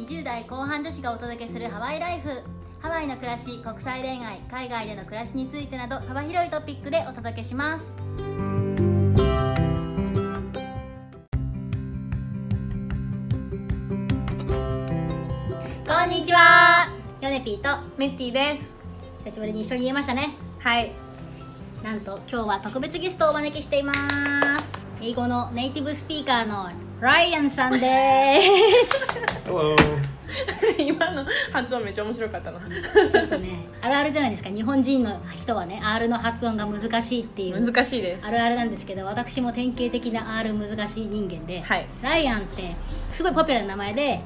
20代後半女子がお届けするハワイライフ。ハワイの暮らし、国際恋愛、海外での暮らしについてなど幅広いトピックでお届けします。こんにちは、ヨネピーとメッティです。 久しぶりに一緒に言えましたね。 はい。 なんと今日は特別ゲストをお招きしています。英語のネイティブスピーカーのライアンさんです。 Hello. 今の発音めっちゃ面白かったな。 ちょっとね、あるあるじゃないですか。日本人の人はね、R の発音が難しいっていう難しいです。 あるあるなんですけど、私も典型的な R 難しい人間で、 はい、 ライアンってすごいポピュラーな名前で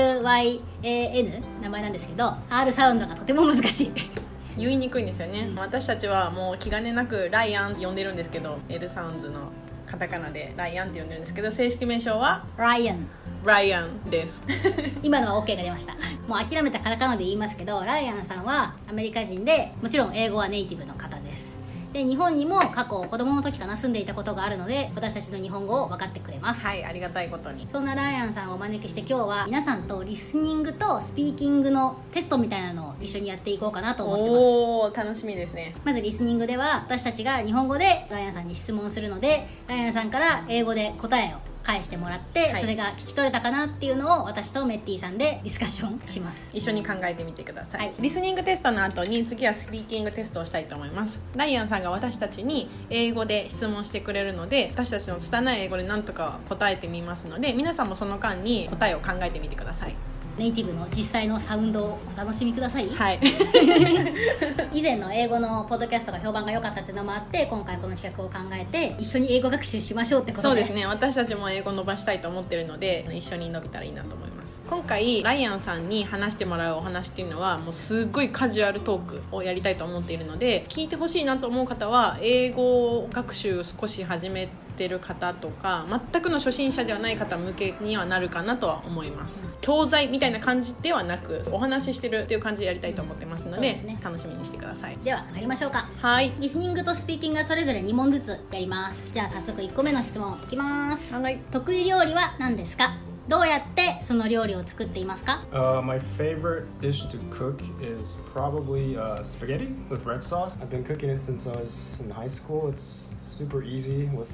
RYAN 名前なんですけど、 R サウンドがとても難しい。 言いにくいんですよね。私たちはもう気兼ねなくライアンって呼んでるんですけど、 L サウンズのカタカナでライアンって呼んでるんですけど、正式名称はライアンです。 今のは OK が出ました。もう諦めたカタカナで言いますけど、ライアンさんはアメリカ人で、もちろん英語はネイティブの方です。で、日本にも過去子供の時かな住んでいたことがあるので、私たちの日本語を分かってくれます。 はい、ありがたいことに。 そんなライアンさんをお招きして、今日は皆さんとリスニングとスピーキングのテストみたいなのを一緒にやっていこうかなと思ってます。 おー、楽しみですね。 まずリスニングでは私たちが日本語でライアンさんに質問するので、ライアンさんから英語で答えを返してもらって、 はい、 それが聞き取れたかなっていうのを私とメッティさんでディスカッションします。 一緒に考えてみてください、 はい、 リスニングテストの後に次はスピーキングテストをしたいと思います。ライアンさんが私たちに英語で質問してくれるので、私たちの拙い英語で何とか答えてみますので、皆さんもその間に答えを考えてみてください。 ネイティブの実際のサウンドをお楽しみください。 はい。 以前の英語のポッドキャストが評判が良かったっていうのもあって、今回この企画を考えて一緒に英語学習しましょうってことで。 そうですね、私たちも英語伸ばしたいと思ってるので、一緒に伸びたらいいなと思います。今回ライアンさんに話してもらうお話っていうのはもうすっごいカジュアルトークをやりたいと思っているので、聞いてほしいなと思う方は英語学習少し始めてる方とか、全くの初心者ではない方向けにはなるかなとは思います。教材みたいな感じではなく、お話ししてるっていう感じでやりたいと思ってますので、 ね、 楽しみにしてください。 では参りましょうか。 はい。 リスニングとスピーキングがそれぞれ2問ずつやります。じゃあ早速1個目の質問いきます。 はい。 得意料理は何ですか？どうやってその料理を作っていますか？ My favorite dish to cook is probably spaghetti with red sauce. I've been cooking it since I was in high school. It's super easy with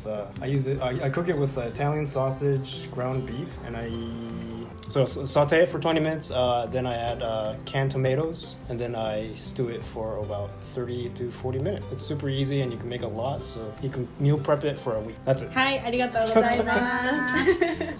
I cook it with Italian sausage, ground beef, and so saute it for 20 minutes, then I add canned tomatoes, and then I stew it for about 30 to 40 minutes. It's super easy and you can make a lot, so you can meal prep it for a week. That's it. はい、ありがとうございます。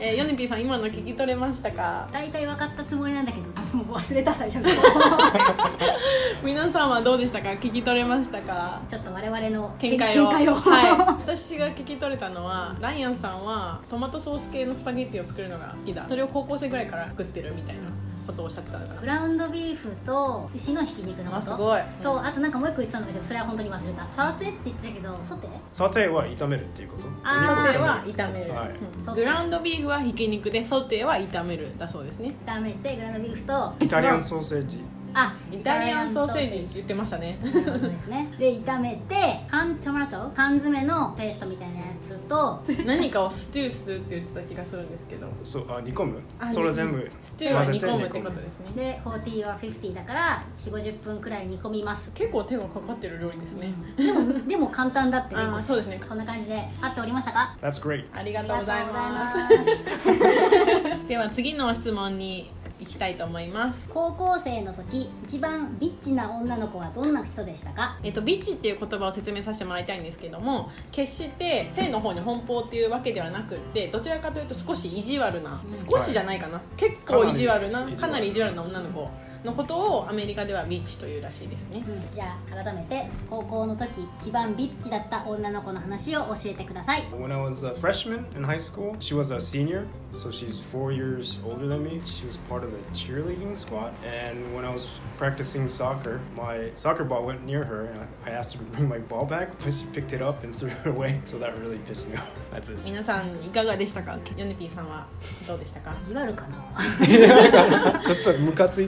ヨネピーさん、今の聞き取れましたか？ 大体分かったつもりなんだけど、もう忘れた最初の皆さんはどうでしたか？聞き取れましたか？ ちょっと我々の見解をはい、私が聞き取れたのは、ライアンさんはトマトソース系のスパゲッティを作るのが好きだ、それを高校生ぐらいから作ってるみたいなことをおっしゃってたのかな。 グラウンドビーフと牛のひき肉のこと、 すごい、 とあとなんかもう一個言ってたんだけど、それは本当に忘れた。サラテって言ってたけど、ソテ Sauteは炒めるっていうこと？ ソテーは炒める、 はい、 グラウンドビーフはひき肉で、ソテーは炒めるだそうですね。 炒めてグラウンドビーフとイタリアンソーセージ、 イタリアンソーセージって言ってましたね。 なるほどですね。で炒めて缶詰のペーストみたいなやつと何かをステューするって言ってた気がするんですけど、 煮込む、それ全部ステューは煮込むってことですね。 で40は50だから 4,50 分くらい煮込みます。 結構手がかかってる料理ですね。 でも簡単だってね。 そうですね。 そんな感じで合っておりましたか？ That's great. ありがとうございますでは次の質問に行きたいと思います。 高校生の時一番ビッチな女の子はどんな人でしたか？ ビッチっていう言葉を説明させてもらいたいんですけども、決して性の方に奔放っていうわけではなくって、どちらかというと少し意地悪な、少しじゃないかな、結構意地悪な、かなり意地悪な女の子のことをアメリカではビッチというらしいですね。 じゃあ改めて高校の時一番ビッチだった女の子の話を教えてください。 When I was a freshman in high school, she was a senior, so she's 4 years older than me. She was part of the cheerleading squad, and when I was practicing soccer, my soccer ball went near her, and I asked her to bring my ball back, but she picked it up and threw it away, so that really pissed me off. That's it. 皆さんいかがでしたか？ヨネピーさんはどうでしたか？ 意地悪かなちょっとムカついた。 ちょっ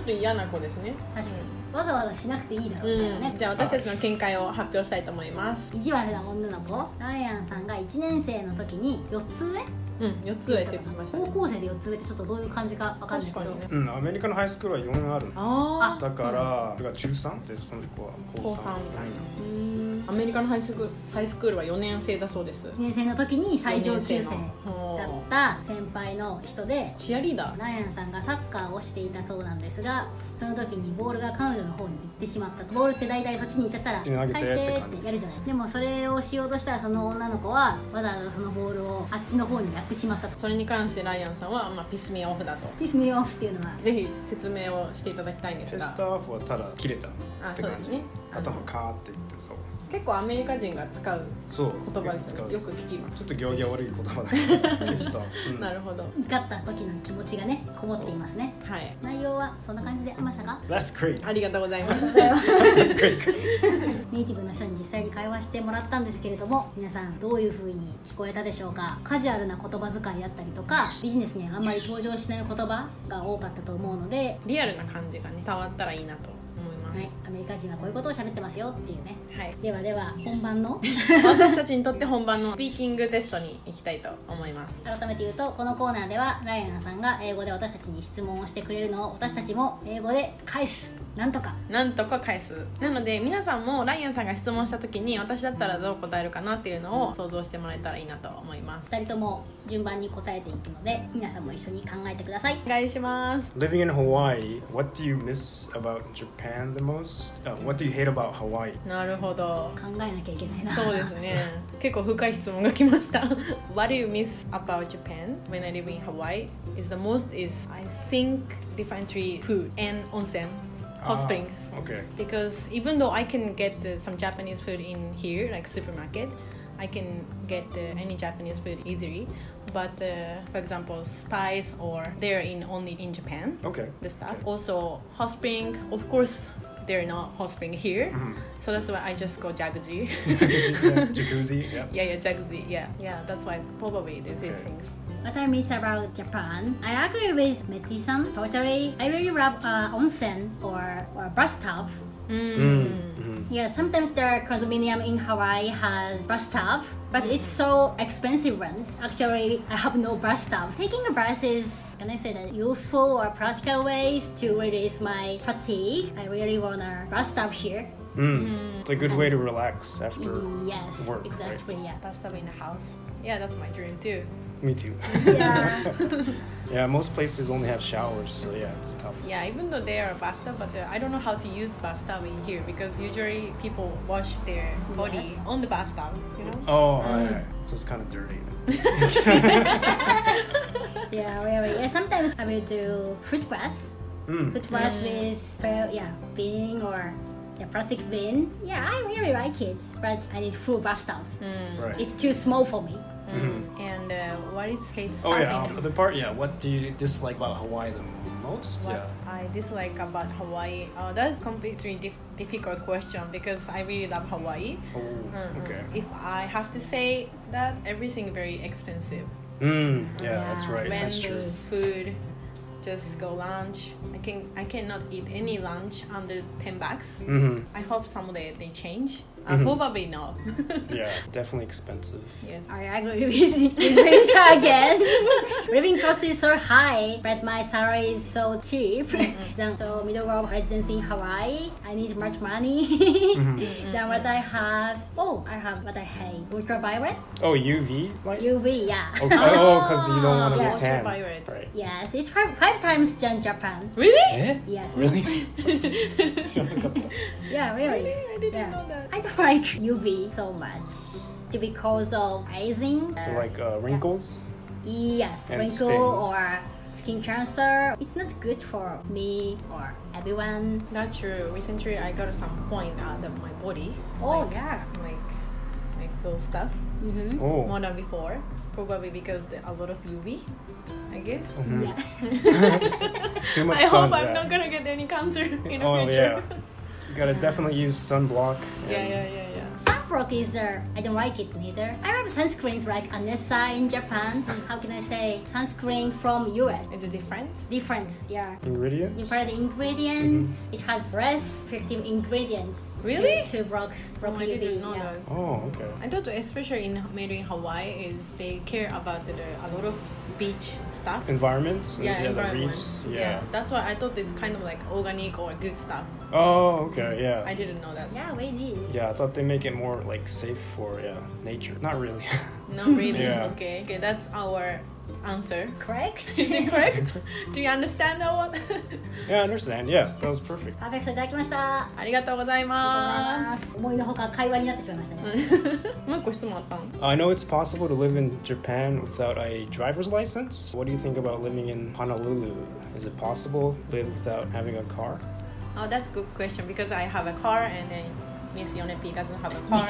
と嫌な子ですね。 確かに、わざわざしなくていいだろうみたいなね、 じゃあ私たちの見解を発表したいと思います。 意地悪な女の子、ライアンさんが1年生の時に4つ上 4つ上って言ってましたね。 高校生で4つ上ってちょっとどういう感じか分かんないけど、 確かにね。 うん、アメリカのハイスクールは4あるの。 あだから、だから中3でその子は高3。 高三みたいなうーんアメリカのハイスクールは4年生だそうです。 1年生の時に最上級生だ四年生のった先輩の人で、 チアリーダー。 ライアンさんがサッカーをしていたそうなんですが、その時にボールが彼女の方に行ってしまったと。ボールって大体そっちに行っちゃったら投げて返してってやるじゃない。でもそれをしようとしたら、その女の子はわざわざそのボールをあっちの方にやってしまったと。 それに関してライアンさんは、ピスミーオフだと。 ピスミーオフっていうのは、 ぜひ説明をしていただきたいんですテスが、 トオフはただ切れたって感じ。 そうですね。 頭カーって言ってそう。 結構アメリカ人が使うそう言葉ですよね。よく使う聞きます。 ちょっと行儀悪い言葉だけどテスト。うんなるほど。 怒った時の気持ちがねこもっていますね。 はい。 内容はそんな感じでありましたか？ That's great. ありがとうございます。 That's great. ネイティブの人に実際に会話してもらったんですけれども、皆さんどういう風に聞こえたでしょうか？カジュアルな言葉遣いだったりとか、ビジネスにはあんまり登場しない言葉が多かったと思うので、 リアルな感じがね伝わったらいいなと思います。 はい、アメリカ人はこういうことを喋ってますよっていうね。 はい。 ではでは本番の私たちにとって本番のスピーキングテストに行きたいと思います。 改めて言うと、このコーナーではライアンさんが英語で私たちに質問をしてくれるのを私たちも英語で返す、なんとか。 なんとか返す。なので皆さんもライアンさんが質問した時に私だったらどう答えるかなっていうのを想像してもらえたらいいなと思います。 2人とも順番に答えていくので、皆さんも一緒に考えてください。 お願いします。 Living in Hawaii, what do you miss about Japan the most? What do you hate about Hawaii? なるほど。 考えなきゃいけないな。 そうですね。結構深い質問が来ました。What do you miss about Japan when I live in Hawaii? Is the most is I think differently food and onsen, hot springs. Okay. Because even though I can get some Japanese food in here, like supermarket, I can get any Japanese food easily. But for example, spice or they're in only in Japan. Okay. The stuff. Okay. Also, hot spring. Of course, they're not hot spring here. Mhm. So that's why I just go jacuzzi. Jacuzzi, yeah. yeah, jacuzzi. Yeah. That's why probably these Okay. things. What I miss about Japan, I agree with Meti-san totally. I really love onsen or bathtub. Yeah, sometimes the condominium in Hawaii has bathtub, but it's so expensive ones. Actually, I have no bathtub. Taking a bath is, can I say that, useful or practical ways to release my fatigue. I really want a bathtub here. It's a good way to relax after Yes, work. exactly. Yeah. Bathtub in the house. Yeah, that's my dream too. Right? Me too. Yeah. Yeah, most places only have showers, so yeah, it's tough. Yeah, even though they are bathtub, but I don't know how to use bathtub in here because usually people wash their body Yes. on the bathtub, you know? Oh, alright. So it's kind of dirty. Yeah, really. Yeah, sometimes I will do fruit bath. Fruit bath with bin or plastic bin. Yeah, I really like it, but I need full bathtub. Right. It's too small for me. And what is hate Oh stuff yeah, in the part, yeah, what do you dislike about Hawaii the most? What Yeah. I dislike about Hawaii? That's completely difficult question because I really love Hawaii. Oh, okay. If I have to say that everything very expensive. Yeah, that's right. When That's the true. food, just go lunch. I cannot eat any lunch under $10. I hope someday they change. Probably not. Yeah, definitely expensive. Yes. I agree with Rita again. Living cost is so high, but my salary is so cheap. So middle of residence in Hawaii, I need much money than what I have. Oh, I have what I hate. Ultraviolet? Oh, UV light? UV, yeah. Okay. Oh, because you don't want to Yeah. get tan. Ultraviolet. Right. Yes, it's five times than Japan. Really? Eh? Yes. Really? Yeah, really. I didn't Yeah. know that. I don't like UV so much because of aging. So like wrinkles? Yes, And wrinkle stains. or skin cancer. It's not good for me or everyone. That's true. Recently, I got some point out of my body. Oh like, yeah. like those stuff Mm-hmm. Oh. more than before. Probably because a lot of UV, I guess. Yeah. Too much I sun. hope I'm yeah. not gonna get any cancer in the Oh future. yeah. You gotta definitely use sunblock. yeah, and- yeah. Some Afrock is I don't like it neither. I have sunscreens like Anessa in Japan. How can I say sunscreen from US? Is it different? Different, yeah. Ingredients? You the ingredients. It has less effective ingredients. Really? To block Oh, I UV. didn't know Yeah. that. Oh, okay. I thought especially made in Hawaii is they care about a lot of beach stuff. Environment? Yeah, the environment. reefs? Yeah. That's why I thought it's kind of like organic or good stuff. Oh, okay, yeah. I didn't know that. Yeah, we need. Yeah, I thought they make it more like safe for nature. Not really. Not really. Yeah. Okay, that's our answer. Correct? Is it correct? Do you understand that one? Yeah, I understand. Yeah, that was perfect. パーフェクトいただきました。 ありがとうございま思いのほか会話になってしまいましたね。 す。もう一個質問あったん？ I know it's possible to live in Japan without a driver's license. What do you think about living in Honolulu? Is it possible to live without having a car? Oh, that's a good question because I have a car and then Miss Yonepi doesn't have a car.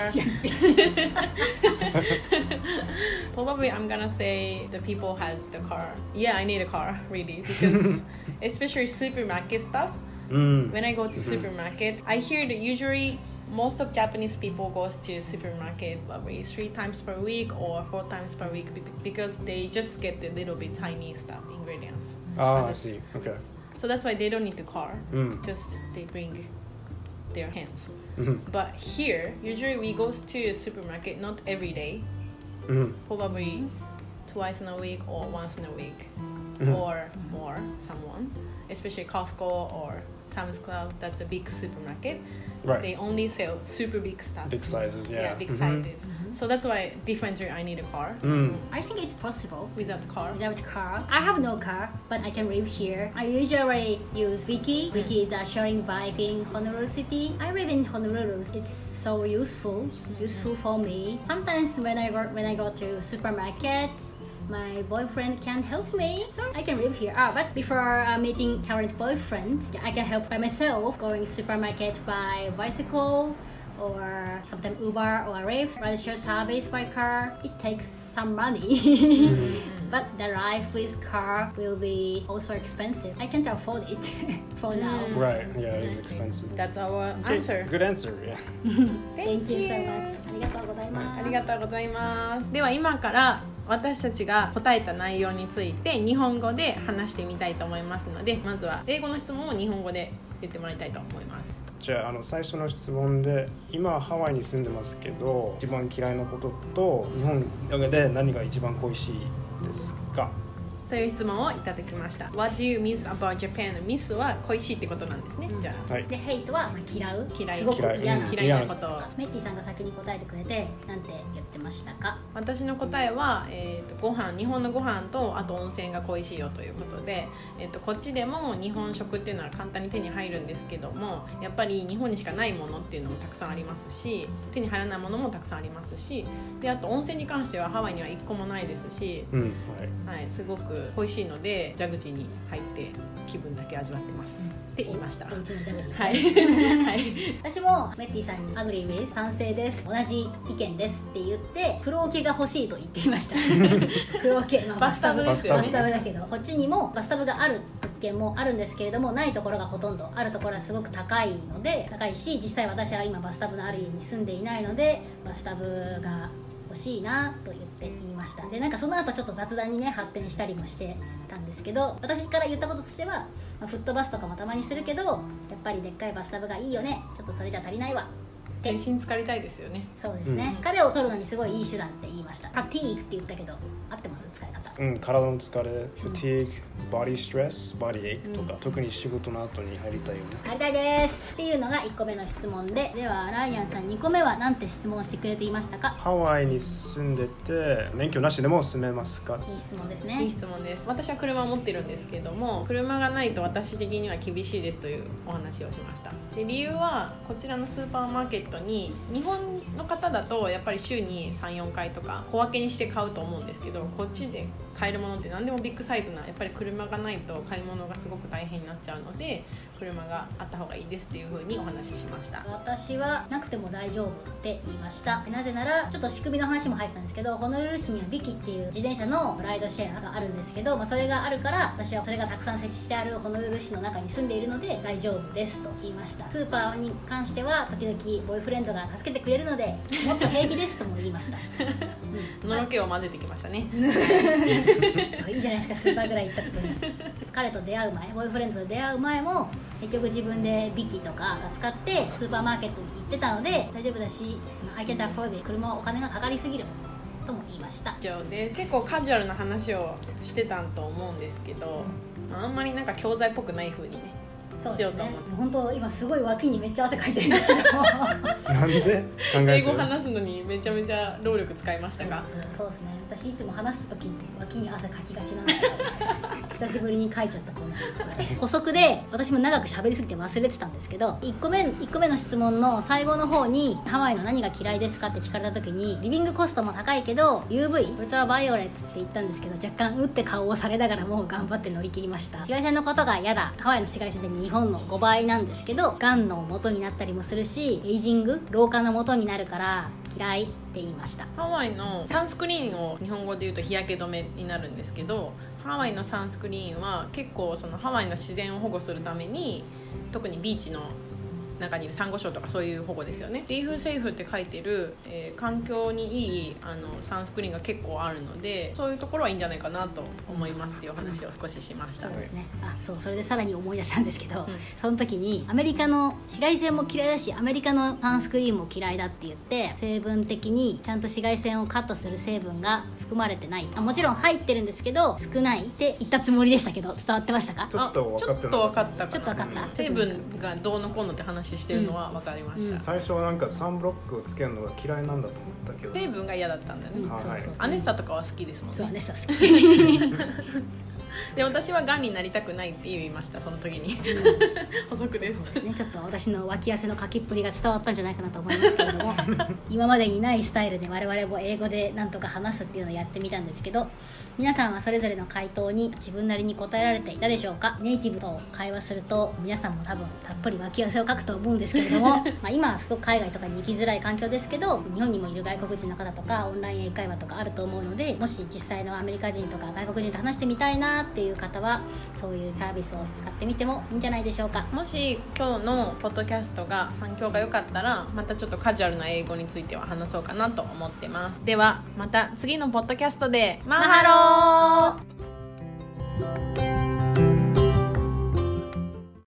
Probably I'm gonna say the people has the car. Yeah, I need a car really because especially supermarket stuff. When I go to supermarket, I hear that usually most of Japanese people goes to supermarket probably 3 times per week or 4 times per week because they just get the little bit tiny stuff ingredients. Ah, I see. Okay. So that's why they don't need the car. Mm. Just they bring their hands. Mhm. But here, usually we go to a supermarket not every day, Mhm. probably twice in a week or once in a week, Mhm. or more. Someone, especially Costco or Sam's Club. That's a big supermarket. Right. They only sell super big stuff. Big sizes, yeah. Big Mhm. sizes. So that's why differently I need a car. I think it's possible. Without the car. Without car, I have no car, but I can live here. I usually use Wiki. Wiki is a sharing bike in Honolulu City. I live in Honolulu. It's so useful for me. Sometimes when I go to supermarket, my boyfriend can help me, so I can live here. But before meeting current boyfriend, I can help by myself going supermarket by bicycle or sometimes Uber or Lyft, ride-share service by car. It takes some money, but the life with car will be also expensive. I can't afford it for now. Right, yeah, it is expensive. That's our Okay, answer. good answer, yeah. Thank you so much. ありがとうございます。 ありがとうございます。では今から私たちが答えた内容について日本語で話してみたいと思いますので、まずは英語の質問を日本語で言ってもらいたいと思います。 じゃあ、最初の質問で、今ハワイに住んでますけど、一番嫌いなことと日本で何が一番恋しいですか？ という質問をいただきました。What do you miss about Japan? miss は恋しいってことなんですね。じゃあ、 はい。 で、ヘイトは嫌う、 嫌いすごく嫌な。 嫌いなことを。 メッティさんが先に答えてくれて、なんて言ってましたか？ 私の答えは、ご飯、日本のご飯とあと温泉が恋しいよということで、こっちでも日本食っていうのは簡単に手に入るんですけども、やっぱり日本にしかないものっていうのもたくさんありますし、手に入らないものもたくさんありますし、であと温泉に関してはハワイには1個もないですし、はい、すごく恋しいので蛇口に入って気分だけ味わってます、って言いました。 お家のジャグジーはいはい私もメッティさんにアグリーウェイ賛成です、同じ意見ですって言って風呂桶が欲しいと言っていました風呂桶、 バスタブですよね。 バスタブだけどこっちにもバスタブがある物件もあるんですけれども、ないところがほとんど、あるところはすごく高いので、高いし、実際私は今バスタブのある家に住んでいないのでバスタブが欲しいなと言いました。でなんかその後ちょっと雑談にね発展したりもしてたんですけど、私から言ったこととしては、フットバスとかもたまにするけどやっぱりでっかいバスタブがいいよね、ちょっとそれじゃ足りないわって全身浸かりたいですよね。 そうですね、彼を取るのにすごいいい手段って言いました。パティークって言ったけど合ってます？使い方。 体の疲れ、fatigue、body stress、body ache とか、特に仕事の後に入りたいよね。 入りたいですっていうのが1個目の質問で、ではライアンさん2個目は何て質問してくれていましたか？ ハワイに住んでて免許なしでも住めますか？ いい質問ですいいね。 質問です。私は車を持ってるんですけども、車がないと私的には厳しいですというお話をしました。で理由はこちらのスーパーマーケットに日本の方だとやっぱり週に 3,4 回とか小分けにして買うと思うんですけど、こっちで買えるものって何でもビッグサイズな、やっぱり車がないと買い物がすごく大変になっちゃうので、 車があった方がいいですっていう風にお話ししました。 私はなくても大丈夫って言いました。なぜならちょっと仕組みの話も入ってたんですけど、ホノルル市にはビキっていう自転車のライドシェアがあるんですけど、それがあるから私はそれがたくさん設置してあるホノルル市の中に住んでいるので大丈夫ですと言いました。スーパーに関しては時々ボーイフレンドが助けてくれるのでもっと平気ですとも言いました、 のろけを混ぜてきましたねいいじゃないですか、スーパーぐらい行ったことに彼と出会う前、ボーイフレンドと出会う前も結局自分でビキとか使ってスーパーマーケットに行ってたので大丈夫だし、I can't afford it、車はお金がかかりすぎるとも言いました。 以上です。結構カジュアルな話をしてたと思うんですけど、あんまりなんか教材っぽくない風にねそうですね、本当今すごい脇にめっちゃ汗かいてるんですけどなんで考えてる？ 英語話すのにめちゃめちゃ労力使いましたか？ そうですね、私いつも話す時に脇に汗かきがちなんですけど久しぶりにかいちゃったこんな補足で私も長く喋りすぎて忘れてたんですけど、1個目の質問の最後の方にハワイの何が嫌いですかって聞かれた時に、リビングコストも高いけど UV ウルトラバイオレットって言ったんですけど、若干打って顔をされながらも頑張って乗り切りました。紫外線のことが嫌だ、ハワイの紫外線で日本の5倍なんですけどがんの元になったりもするし、エイジング老化の元になるから嫌いって言いました。 ハワイのサンスクリーンを日本語で言うと日焼け止めになるんですけど、ハワイのサンスクリーンは結構そのハワイの自然を保護するために、特にビーチの中にいるサンゴ礁とかそういう保護ですよね。リーフセーフって書いてる、環境にいいサンスクリーンが結構あるので、そういうところはいいんじゃないかなと思いますっていうお話を少ししました。 そうですね。それでさらに思い出したんですけど、その時にアメリカの紫外線も嫌いだしアメリカのサンスクリーンも嫌いだって言って、成分的にちゃんと紫外線をカットする成分が含まれてない、もちろん入ってるんですけど少ないって言ったつもりでしたけど、伝わってましたか？ ちょっと分かったちょっと分かった。 成分がどうのこうのって話してるのは分かりました、 最初はなんかサンブロックをつけるのが嫌いなんだと思ったけど、 成分が嫌だったんだよね、アネッサとかは好きですもんね。 そう、アネッサ好きで私はがんになりたくないって言いました、その時に補足です。 そうですね、ちょっと私の脇汗のかきっぷりが伝わったんじゃないかなと思いますけれども今までにないスタイルで我々も英語でなんとか話すっていうのをやってみたんですけど、皆さんはそれぞれの回答に自分なりに答えられていたでしょうか？ネイティブと会話すると皆さんも多分たっぷり脇汗をかくと思うんですけれども今はすごく海外とかに行きづらい環境ですけど、日本にもいる外国人の方とかオンライン英会話とかあると思うので、もし実際のアメリカ人とか外国人と話してみたいなっていう方はそういうサービスを使ってみてもいいんじゃないでしょうか。 もし今日のポッドキャストが反響が良かったら、またちょっとカジュアルな英語については話そうかなと思ってます。ではまた次のポッドキャストでマハロー。